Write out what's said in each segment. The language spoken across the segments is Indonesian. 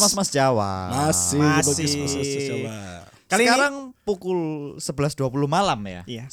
mas Jawa. Masih. Jawa. Sekarang pukul 11.20 malam ya. Iya.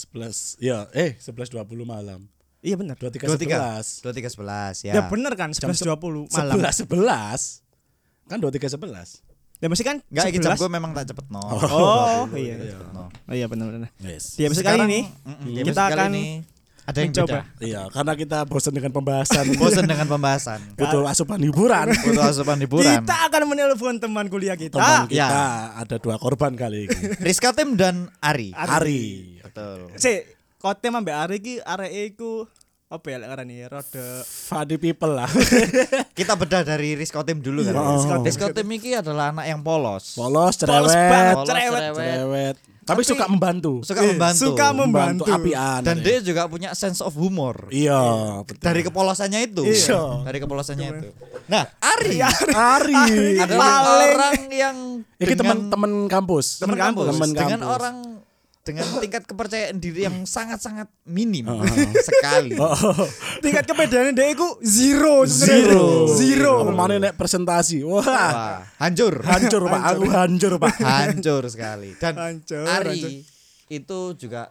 11.20 malam. Iya benar. 23.11. 23.11 ya. Ya benar kan 11.20 malam. 11. Kan 23.11. Ya mesti kan Enggak, iki jam 11. gue memang tak cepet no. Oh, iya. No. Oh iya benar. Yes. Di episode kali ini di kita episode kali akan ini ada yang mencoba. beda. Iya, karena kita bosan dengan pembahasan. Bosan dengan pembahasan. Butuh asupan hiburan. Butuh asupan hiburan. Kita akan menelpon teman kuliah kita. Teman kita Ya. ada 2 korban kali ini. Rizka Tim dan Ari. Ari. Betul. Kote ambek Ari iki areke iku apa ya lek ngarani rada Funny people lah. Kita bedah dari Rizka Tim dulu kan. Oh. Rizka Tim ini adalah anak yang polos. Polos, polos cerewet. banget, Polos, Cerewet. Tapi Tapi suka membantu. Suka membantu. Suka membantu. apian. Dan dia juga punya sense of humor. Iya, betul. Dari kepolosannya itu. Iya. Dari kepolosannya itu. Nah, Ari Ari. adalah Paling. orang yang Ini dengan teman kampus. teman kampus, Teman dengan kampus. orang dengan tingkat kepercayaan diri yang sangat-sangat minim sekali. tingkat kepedean dia iku zero Zero. sebenarnya. Apa mana nek presentasi? Wah. Wah, hancur. Hancur Pak, aku hancur Pak. Hancur sekali. Dan Hancur, Ari hancur. itu juga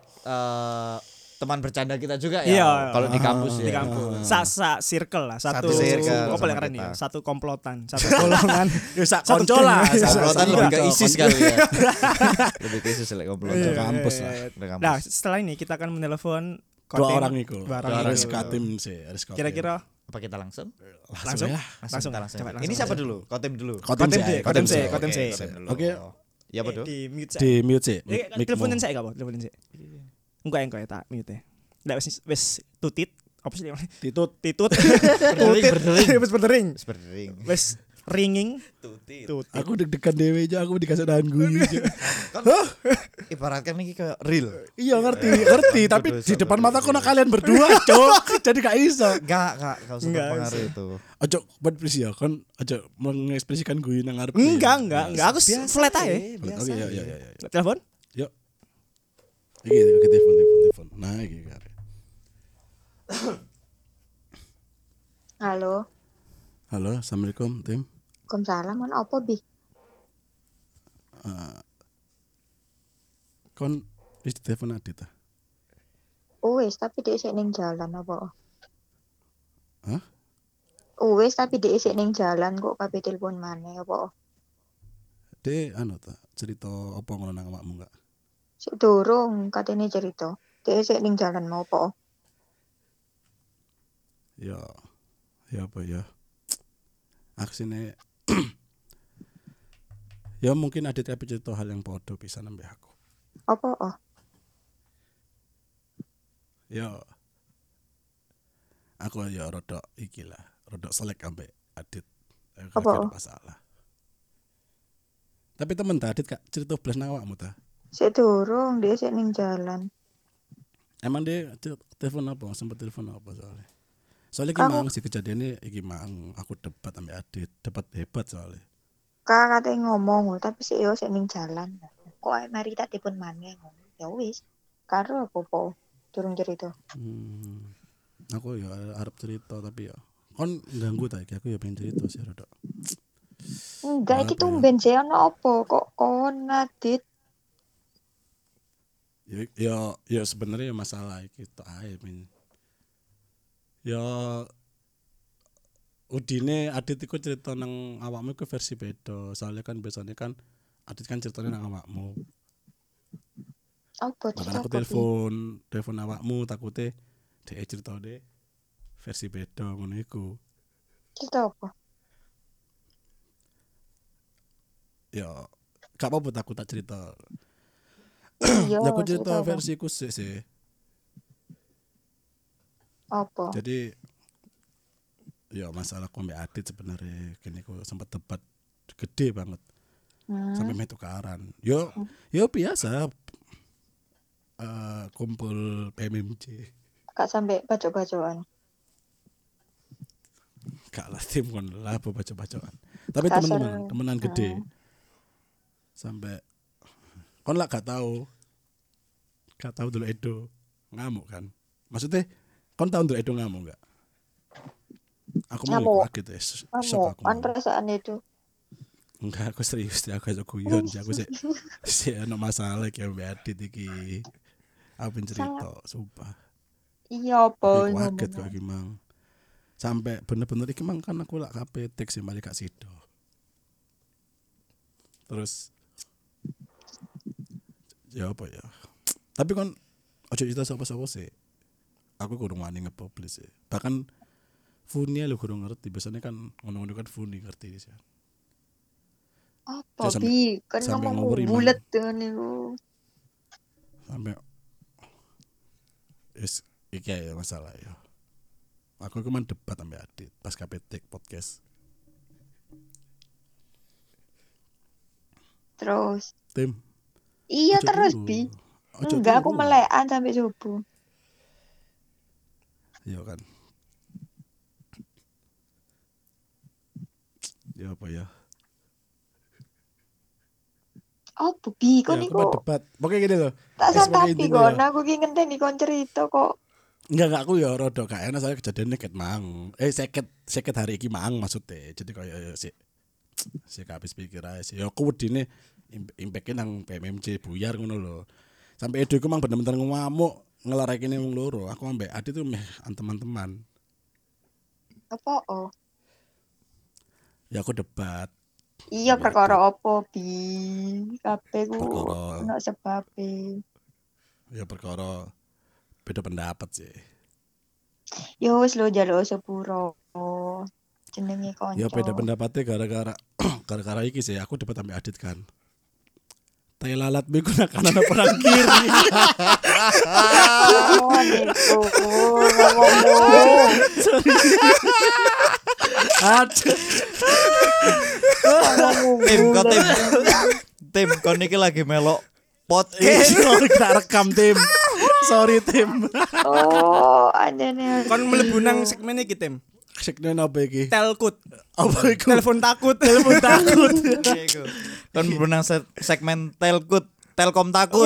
teman bercanda kita juga Iya. ya. Kalau di kampus ya. Di kampus. Circle lah, satu circle apa sama lek ngarani kita. ya? Satu komplotan, satu golongan. Ya sak Satu konco lah. geng. Komplotan Iya. lebih ke ISIS kali ya. Lebih ke ISIS lek komplotan. Iya. kampus lah. Udah kampus. Nah, setelah ini kita akan menelepon 2 orang itu. Dua orang Harus itu. katim sih, harus katim. Kira-kira Apa kita langsung? langsung ya. langsung Kita langsung. coba Ini siapa dulu? Kotim dulu. Kotim Kotim sih. sih, Kotim sih. kotim sih. Oke. Ya apa tuh? di mute Di mute sih. teleponin saya gak apa? Teleponin saya. Enggak ya tak mute. Nggak wis tutit apa sih namanya? Titut. Titut. Berdering. Wis berdering. Berdering. Wis ringing. Tutit. Tutit. Aku deg-degan dewe aja, aku dikasih dahan guyu aja. Ibaratkan ini kayak real. Iya ngerti, tapi di depan mata kok kalian berdua, Cok. Jadi gak iso. Enggak usah Enggak terpengaruh usah. itu. Ojo buat please ya, kan ojo mengekspresikan guyu nang ngarep. Enggak. Aku flat aja. Oke, ya. Telepon? Yuk. Iki telepon. Nah, iki kare. Halo, Halo, assalamualaikum tim. Waalaikumsalam. Mana apa bi? Kon wis telepon Adit ta? Wis, tapi dia isik ning jalan apa? Hah? Wis, tapi dia isik ning jalan kok kabeh telepon maneh apa? De anu ta, cerita apa ngono nang awakmu enggak? Sik durung katene cerita. Dia isik ning jalan mau apa? Ya apa ya? Aksine ya mungkin Adit tapi cerita hal yang podo bisa nambah aku. Apa? Oh, Ya aku ya rodok iki lah, rodok selek ambek Adit. Aku Apa? gak ada masalah. Tapi temen ta Adit kak cerita blas nang awakmu ta? sik durung dia isik ning jalan. Emang dia telepon apa? Sempat telepon apa soalnya? Soalnya iki mang si kejadiannya iki mang aku debat ambek Adit, debat hebat soalnya. Kak katanya ngomong, tapi sik yo sik ning jalan. Kok ae mari tak telepon maneh. Ya wis. Karo apa-apa. Durung cerita. Aku ya arep cerita tapi ya kon ganggu ta iki aku ya pengen cerita sih rodok. Enggak, iki Apa ya? tumben sih ono apa kok kon Adit. Ya sebenarnya masalah iki tok ae men. Ya udine Adit iku cerita nang awakmu iku versi beda. Soalnya kan biasanya kan Adit kan ceritanya nang awakmu. Apa Bahkan cerita aku apa, Bi? telepon awakmu takute dhek cerita de versi beda ngono iku. Cerita apa? Ya gak apa-apa aku tak cerita. Iya, Ya aku cerita apa? versiku sih. Apa? Jadi ya masalah kombe Adit sebenarnya kini aku sempat debat gede banget sampai main tukaran. Yo biasa kumpul PMMC. Kak sampai bacok-bacokan. Gak lah tim kon lah apa baca-bacaan. Tapi Kasar. temenan gede. Sampai kon lah gak tahu dulu Edo ngamuk kan. Maksudnya kon tahu dulu Edo ngamuk gak? Aku mau Ngamuk. kaget ya. Shock Kamu aku. kan perasaan itu. Enggak, aku serius ya, aku guyon sih aku sih ono masalah iki mbak Adit iki. Aku pengen cerita, sumpah. Iya apa Aku kaget kok ngomong. iki mang. Sampai bener-bener iki mang kan aku lak KPT sih mari Kak Sido. Terus ya apa ya? Tapi kan ojo cerita sapa-sapa sih. Aku kurang wani nge-publish sih. Bahkan Funia lu kurang ngerti. Biasanya kan ngono-ngono kan Funi ngerti sih. Apa Sampai- bi? Kan sampai ngomongmu ngawur, Imam. bulet dengan niku. Sampai iki ya masalah ya. Aku kemarin debat sampai Adit pas KPT podcast. Terus. Tim. Iya ojo terus dulu. bi. Ojo Enggak aku dulu. melekan sampai subuh. Iya kan. Ya apa ya? Apa bi? Kok Ya, aku niku mau debat. Pokoknya gini loh. tak sebagai santapi intinya kon. ya. Aku ki ngenteni kon cerita kok. Enggak aku ya rada gak enak soalnya kejadiannya ket mang. Seket hari iki mang maksudnya. Jadi kayak si habis pikir aja sih. Ya aku wedine impact-nya nang PMMC buyar ngono lho. Sampai Edo iku mang bener-bener ngamuk ngelarekine wong loro. Aku ambek Adi tuh meh teman-teman. Apa oh? Ya aku debat. Iya Sampai perkara apa bi? Kabeh ku Perkara. ono sebabe. Ya perkara beda pendapat sih. Ya wis lho njaluk sepuro. Jenenge kanca. Ya beda pendapatnya gara-gara iki sih aku debat sampai Adit kan. Tai lalat menggunakan anak perang kiri. Oh, niku ngomong. Aduh. Tim, kok tim. Tim, kon niki lagi melok podcast. Sorry tak rekam tim. Sorry tim. Oh, anjene. Kon mlebu nang segmen iki Tim. Segmen apa iki? Telkut. Apa iku? Telepon takut. Telepon takut. Kon menang segmen Telkut, Telkom takut.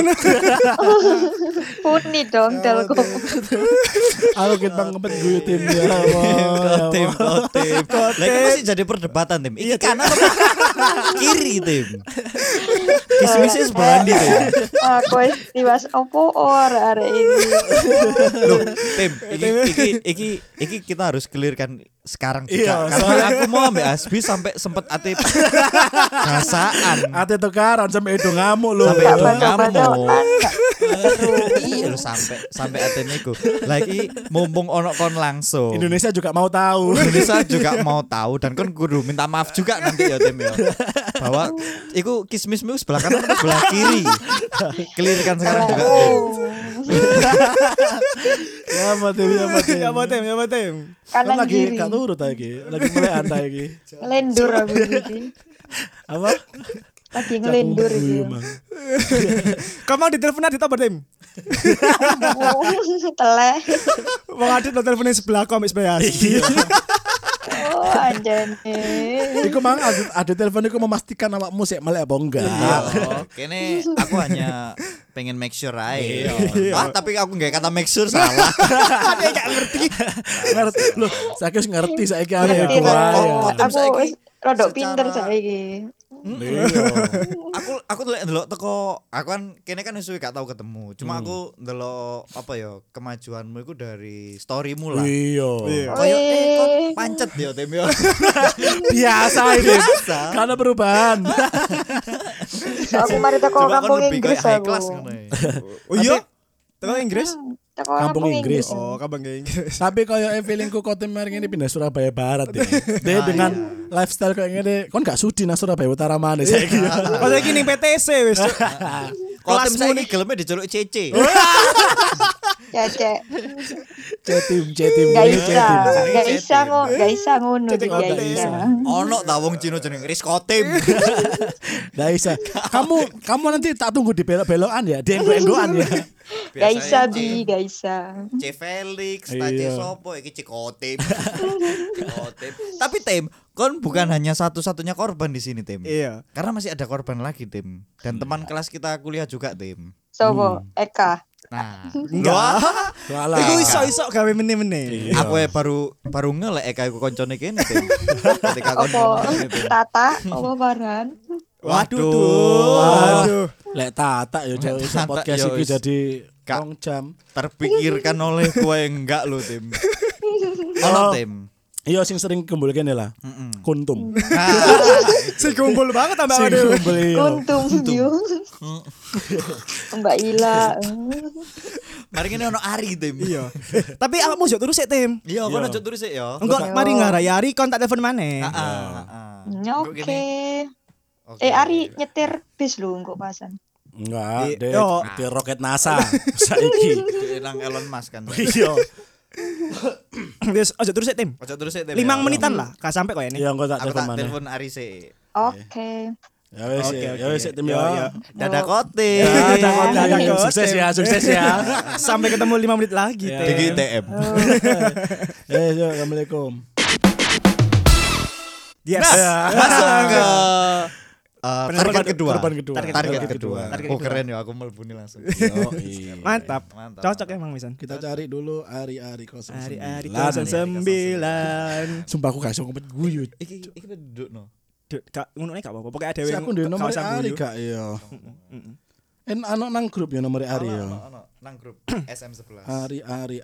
Puni dong telkom. Aku kita ngepet gue tim ya. Tim, tim. Lah iki masih jadi perdebatan tim. Iki kanan apa kiri tim? Kismisnya sebelah ndi tim? Aku wis tiwas opo ora arek ini. Loh, tim, iki kita harus clearkan sekarang juga. Iya, Karena aku mau ambil Asbi sampai sempet ate perasaan. Ate tukaran sampai Edo ngamuk lho. Sampai Gak Edo baca-baca kan. Iya lho sampai ate niku. Lagi mumpung ono kon langsung. Indonesia juga mau tahu. Indonesia juga mau tahu dan kon kudu minta maaf juga nanti ya tim ya. Bahwa iku kismismu sebelah kanan atau sebelah kiri. Clearkan sekarang juga tim. Ya apa tim ya apa tim. Ya apa Tim? Ya apa Tim? Kan Kanan lagi kiri. gak turut lagi. Lagi mulai antai iki. Ngelendur aku iki. Apa? Lagi ngelendur Cakung iki. emang. Kamu mau ditelepon Adit apa Tim? Teleh. Wong Adit lo teleponin sebelah kok ambek sebelah. Oh, anjene. Iku mang ada telepon iku memastikan awakmu sik melek apa enggak. Kene aku hanya pengen make sure aja. Ah, tapi aku nggak kata make sure salah. Ngerti. Loh, saiki wis ngerti saiki arek Ngerti iku lah. ae. Tim Aku saiki wis rodok secara- pinter saiki. Aku ndelok teko aku kan kene kan wis suwe gak tau ketemu. Cuma aku ndelok apa ya kemajuanmu itu dari storymu lah. Iya. Kayak kok pancet ya tim ya. Biasa ini. Biasa. Karena perubahan. Aku mari teko Coba kampung kon lebih Inggris kayak high aku. class ngono ya. Oh iya? Teko Inggris? Teko Kampung kampung Inggris. Inggris. Oh, kapan ke Inggris? Tapi kayak feelingku kau tim hari ini pindah Surabaya Barat ya. Dia dengan lifestyle kayak gini, kon gak sudi nang Surabaya Utara mana saya kira. Pas lagi ning PTC wis. Kalau tim Kelasmu saya nih. gelemnya diceluk CC. Cecek. Cetim Gak ini bisa. cetim. Gak bisa gak bisa ngono Cetik, gak gak bisa. Ono ta wong Cina jeneng Rizko tim. Gak bisa. Kamu nanti tak tunggu di belok-belokan ya, di enggo-enggoan ya. Gak bisa bi, gak bisa. C Felix, Iya. Tace Sopo, iki Cikotim. Cikotim. Tapi Tim, kon bukan hanya satu-satunya korban di sini Tim. Iya. Karena masih ada korban lagi Tim. Dan teman kelas kita kuliah juga Tim. Sopo? Eka. Nah, Enggak. Walah. Iku iso-iso gawe meneh-meneh. Iya. aku baru ngelek kayak koncone kene Tim. Ketika Apa koncone Tim. Tata, apa Farhan? Waduh Waduh. tuh. Waduh. Lek tata yo Lek iso tata, podcast yo iki wis. jadi Kak. 2 jam. Terpikirkan oleh kowe enggak lo Tim. Ono Tim. Iya sing sering kumpul kene lah. Heeh. Kuntum. Si kumpul banget tambah Sing ada. kumpul iya. Kuntum yo. Mbak Ila. Mari ngene ono Ari Tim. Iya. Tapi awakmu yo terus sik, Tim. Iya, Iya. kok lanjut terus sik ya. Engko Yo. mari ngarayari kon tak telepon maneh. Oke. Ari nyetir bis lho engko pasan. Enggak, dek Yo. di roket NASA saiki. Nang Elon Musk kan. Iya. Wis aja terus sik, Tim. Ojo terus sik Tim. 5 ya. menitan lah, gak sampai kok ini. Iya, engko tak Aku telepon tak maneh. telepon Ari sik. Oke. Ya wis, Oke, ya oke. wis tim Yo, yo. yo. Dadah kote. Ya, dadah kote. Sukses ya, sukses ya. Sampai ketemu 5 menit lagi, Ya. Tim. DGTM. Yo, assalamualaikum. Yes. Masuk ke Penelpon target kedua. korban kedua. Target kedua. Target Oh kedua. keren ya, aku melbuni langsung. Yo, iya. Mantap. Mantap. Cocok emang Misan. Kita cari dulu Ari-Ari 09. Hari-hari Lan. 09. Sumpah aku gak iso ngomit guyu. Iki duduk no. Duk, gak ngono gak apa-apa. Pokoke ada Si aku ndek nomor usah Ari guyu. gak ya. Ano nang grup ya nomor Ari ya. Ono nang grup SM11. Ari.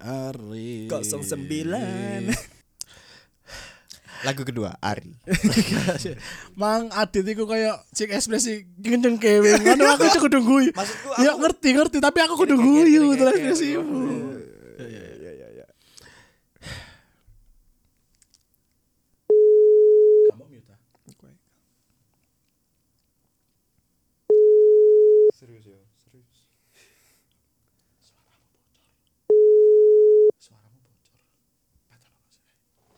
09. Lagu kedua Ari. Mang Adit iku koyo sing ekspresi kenceng kewe. Ngono aku cek kudu guyu. Maksudku Ya ngerti tapi aku kudu guyu terus ekspresimu. Kamu mute. Serius ya, serius. Suaramu bocor. Padahal apa sih?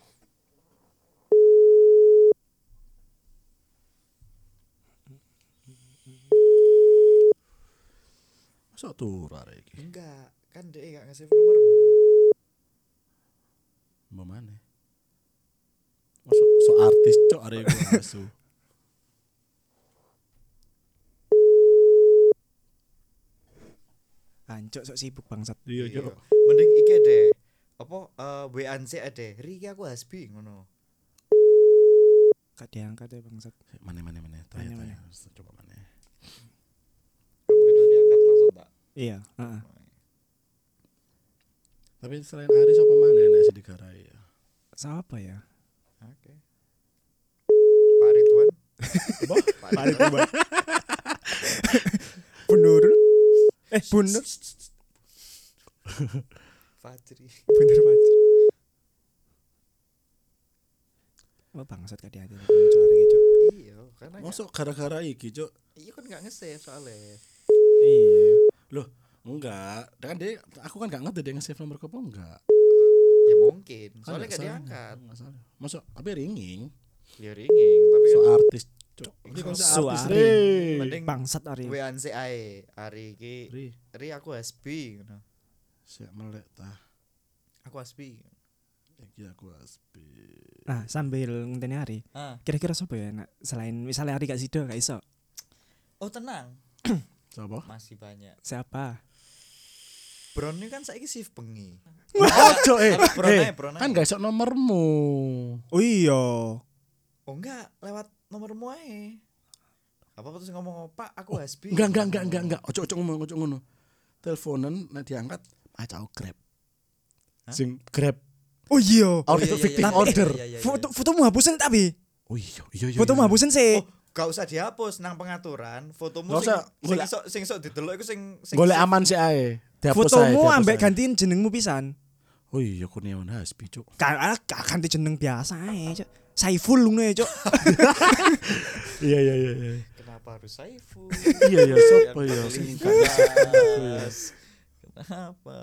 Masa tur arek iki? Enggak, kan dia gak ngasih nomormu. Mau mana? Masuk so artis cok arek iku asu. Ancuk sok sibuk bangsat. Iya Iya. cok. Mending iki deh. Apa WA-an sik ade. Riki aku hasbi ngono. Gak diangkat ya bangsat. Mana. Mana. Coba mana. Begitu diangkat langsung tak. Iya, heeh. Tapi selain Aris apa mana yang sih digarai ya? Siapa ya? Oke. Pak Ridwan. Apa? Pak Ridwan. Bunur. Bunur. Fajri. Bener Pacar. Oh bangsat gak hati-hati muncul hari gitu. Iya, karena Masuk gara-gara iki cok. iya kan gak nge-save soalnya. Iya. Loh, enggak. Kan dia aku kan gak ngerti dia nge-save nomor apa enggak. Ya mungkin, Kan soalnya gak salah. diangkat. Enggak salah. Masuk tapi ringing. Ya ringing, tapi So kan artis cok. Ini kan So artis Ari. Re. mending Bangsat hari. WA-an sik ae. Ari iki Ri, aku hasbi ngono. siap melek tah. Aku hasbi. Iki aku aspi. Nah, sambil ngenteni hari. Ah. Kira-kira siapa ya nak selain misalnya hari gak sido gak iso. Oh tenang, Coba. masih banyak. Siapa? Bron ini kan saiki shift bengi. Ojo Bron kan gak iso nomormu. Oh iya. Oh enggak, lewat nomormu ae. Apa terus ngomong, "Pak, aku hasbi." Enggak. Ojo ngono. Teleponan nek diangkat acau Grab. Hah? Sing Grab. Oh iya. Order victim order. Fotomu hapusin tapi. Oh iya. Fotomu hapusin sih. Oh, gak usah dihapus nang pengaturan. Fotomu Gak usah, golek- sing iso didelok iku sing Golek aman sih ae. Dihapus ae, Fotomu dihapus ambek ae. gantiin jenengmu pisan. Oh iya Kurniawan Hasbi cuk. Kan ganti jeneng biasa ae, Cuk. Saiful ngono ya, Cuk. Iya. Kenapa harus Saiful? Iya sopo ya Yang sing terlintas. Kenapa?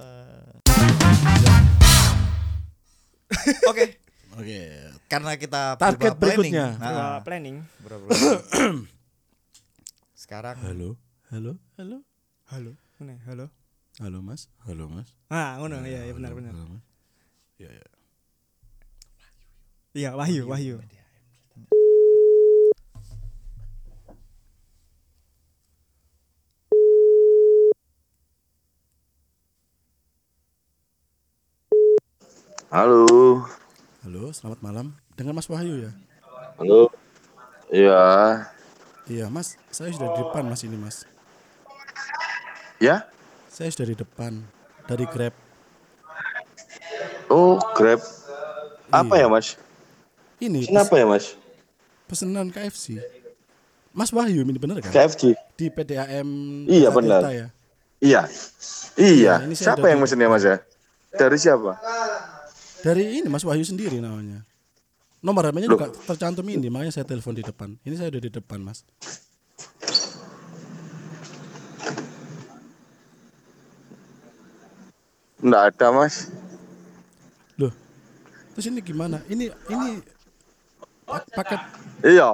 Oke, Oke. karena kita Target berubah planning. berikutnya. Nah, Planning. berubah. Sekarang Halo. Halo. Mana? Halo. Halo Mas. Ah, ngono ya, benar. Halo, Mas. Iya. Iya, Wahyu. Halo. Halo, selamat malam. Dengan Mas Wahyu ya? Halo. Iya. Iya, Mas. Saya sudah di depan, Mas, ini, Mas. Ya? Saya sudah di depan dari Grab. Oh, Grab. Apa Iya. ya, Mas? Ini Kenapa ya, Mas? pesanan KFC. Mas Wahyu ini bener kan? KFC. Di PDAM Iya, Jakarta benar. ya. Iya. Iya. Ini saya Siapa udah yang di mesennya, Mas ya? Dari siapa? Dari ini Mas Wahyu sendiri namanya. Nomor HP-nya Loh. juga tercantum ini, makanya saya telepon di depan. Ini saya udah di depan, Mas. Enggak ada, Mas. Loh. Terus ini gimana? Ini paket Iya.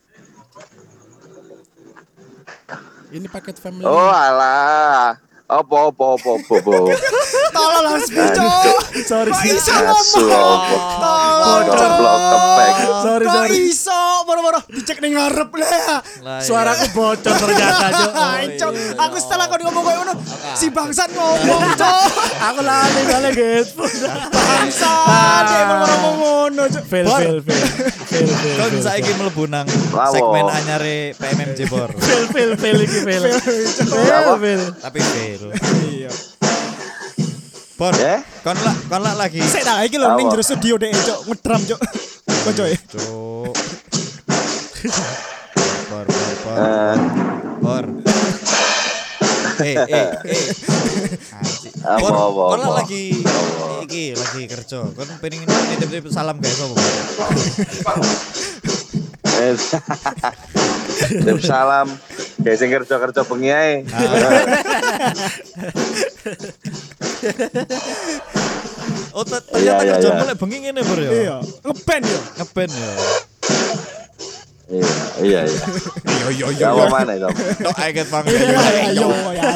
paket family. Oh, alah. Apa. Tolong lah Cok. Sorry. Kok iso Asu, ngomong? apa. Tolong Goblok kepek. Sorry. Kok iso moro-moro dicek ning ngarep lah. Suaraku bocor ternyata, Cok. Cok, aku setelah kau ngomong kayak ngono, si bangsat ngomong, Cok. Aku lali kali headphone. Bangsat, dia ngomong ngono, Cok. Fail. Kon saiki mlebu nang Lawo. segmen anyare PMMJ Bor. Fail iki fail. Fail. Tapi fail. Iya. Bor, Ya? kon lagi. Sik tak iki lho ning Apa? jero studio dek, Cok, ngedram, Cok. Kocoke. Cuk. Bor. Eh, Anjing. Apa, Bor, apa, kon apa. lagi lagi kerja. Kon pengen nitip-nitip salam guys apa? Tip salam. Kayak sing kerja-kerja bengi ae. Oh, ternyata Iya, kerja iya. mulai bengi ngene Bor ya. Iya, ngeband yo. Ngeband ya. Iya. Ya apa mana itu? Tok aget bang. Ayo.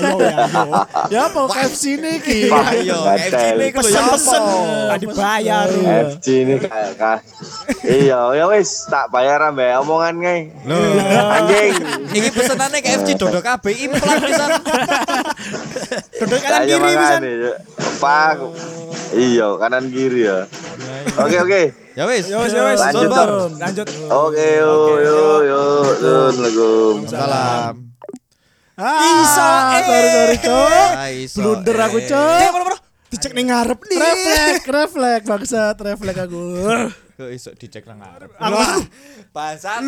Ya apa KFC ini ki? Ayo, Gatel. KFC ini ku lho ya Pesen-pesen, apa? gak dibayar. FG ini kayak iya ya wis tak bayar ambek omongan kae. Loh, Anjing. iki pesenane KFC dodok kabeh implan pisan. Dodok kanan Ayo kiri pisan. makane, yuk. Pak. Iya, kanan kiri ya. Oke. Ya wis. Yo wis, Lanjut, Bor. Dok. Lanjut. Oke, yuk. Assalamualaikum. Salam. Iso, Sorry, Cok. Iso, Blunder aku, Eh, Cok. bro. Dicek ning ngarep nih. Refleks bangsat, refleks aku. Kok iso dicek nang ngarep. Aku Bangsat.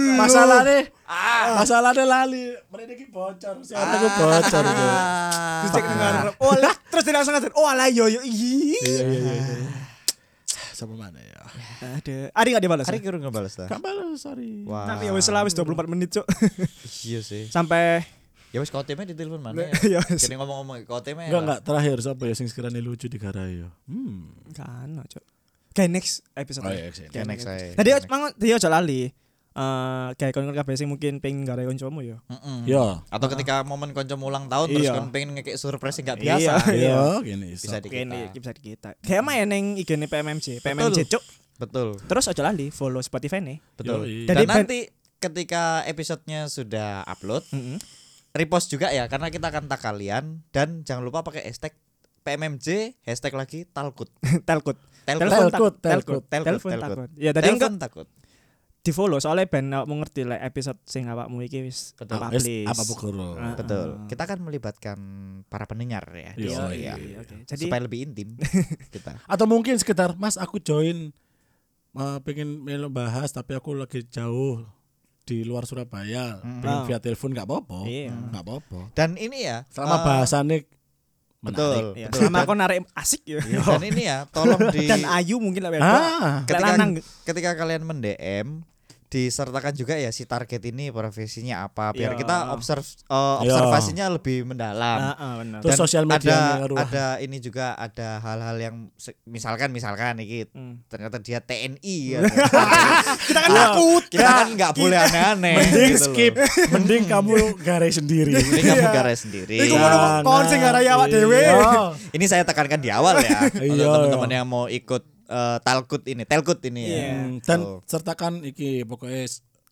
Masalahnya lali. Mereka iki bocor, suaraku bocor. Cok. dicek ning ngarep. Oh, lah terus dia langsung ngatain, "Oh, alah yo. Ih." Iya. Sama mana ya? Ada. Ari enggak dibalas? Hari kira ngebales ta? Gak balas, sorry. Wah. Tapi ya wis lah wis 24 menit, Cok. Iya sih. Sampai Ya wis kau temnya di telepon mana Ya ya? wis. Kene ngomong-ngomong kau temnya. Enggak terakhir siapa ya sing sekiranya lucu di garai ya. kan, Cok. Kayak next episode. Oh iya, Ya next saya. Tadi mangan dia aja lali. Kayak kon kabeh sing mungkin pengen gawe kancamu ya. Ya. Atau ketika momen konco ulang tahun terus Iya. kon pengen ngekek surprise yang gak Iya. biasa. Iya, gini iso. Bisa di Kene kita. bisa di kita. Kayak main ning IG-ne PMMJ, Cuk. Betul. Terus aja lali follow Spotify nih. Betul. Yoi. Dan Jadi nanti ketika episodenya sudah upload, repost juga ya karena kita akan tag kalian dan jangan lupa pakai hashtag PMMJ hashtag lagi Talkut. Telkut. Telkut. Telepon takut. Ya tadi Telepon enggak takut. di follow soalnya ben awakmu ngerti lah episode sing awakmu iki wis Betul. apa Wis, please. apa pukul. Betul. Kita akan melibatkan para pendengar ya. di Iya, sini iya, ya. Oke. Jadi Supaya lebih intim kita. Atau mungkin sekedar Mas aku join pengen melo bahas tapi aku lagi jauh di luar Surabaya. Pengen via telepon enggak apa-apa. Iya. Enggak apa-apa. Dan ini ya Selama bahasannya betul. ya, betul. selama aku narik asik ya. Dan ini ya tolong di Dan Ayu mungkin lah ketika, lanang. ketika kalian men-DM disertakan juga ya si target ini profesinya apa biar Iya. kita observasinya lebih mendalam. Benar. Terus sosial media ada ini juga ada hal-hal yang misalkan iki ternyata dia TNI ya. Kita kan takut. Kita kan nggak boleh aneh-aneh. Mending gitu loh. skip. Mending kamu garai sendiri. Ini kamu garis sendiri. Iku ngono kon sing garai awak dhewe. Iya. Ini saya tekankan di awal ya. Untuk Iya. teman-teman yang mau ikut telkut ini Iya. ya. Dan So, sertakan iki pokoknya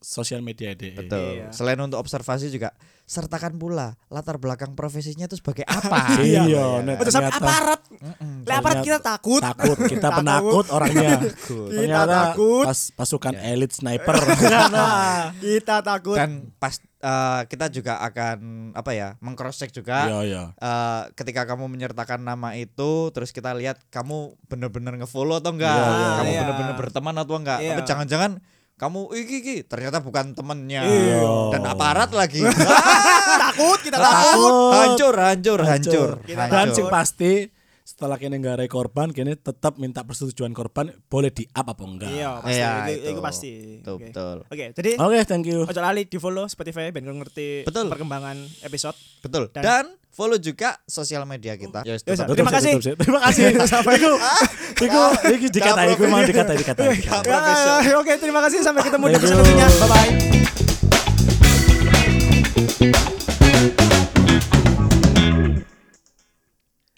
sosial media DE. Betul. Iya. Selain untuk observasi juga sertakan pula latar belakang profesinya itu sebagai apa. Iya, Iya, net. Betul sampai Ternyata- aparat. Mm-mm. Lah aparat kita takut. Takut, kita penakut orangnya. Kita takut. Pas pasukan elit sniper. Nah, kita takut. Dan pas kita juga akan meng-cross check juga. Iya, iya. Ketika kamu menyertakan nama itu, terus kita lihat kamu bener-bener nge-follow atau enggak, Iya, iya. kamu Iya. bener-bener berteman atau enggak. Iya. Tapi jangan-jangan kamu iki ternyata bukan temennya Iya. dan aparat lagi. Takut, kita takut. Hancur. Kita Dan takut. sing pasti setelah kene nggarai korban kene tetap minta persetujuan korban boleh di-up apa enggak. Iya, pasti. Iya, itu itu. pasti. Betul, Oke. betul. Oke, jadi Oke, thank you. ojo lali di-follow Spotify ben kau ngerti Betul. perkembangan episode. Betul. Dan- Dan follow juga sosial media kita. Yes, Yes, tetap. Terima Tutup, kasih. tutup, tutup. Terima kasih. Iku dikata, iku mau dikata. Oke, terima kasih sampai ketemu di Thank episode you. selanjutnya. Bye bye.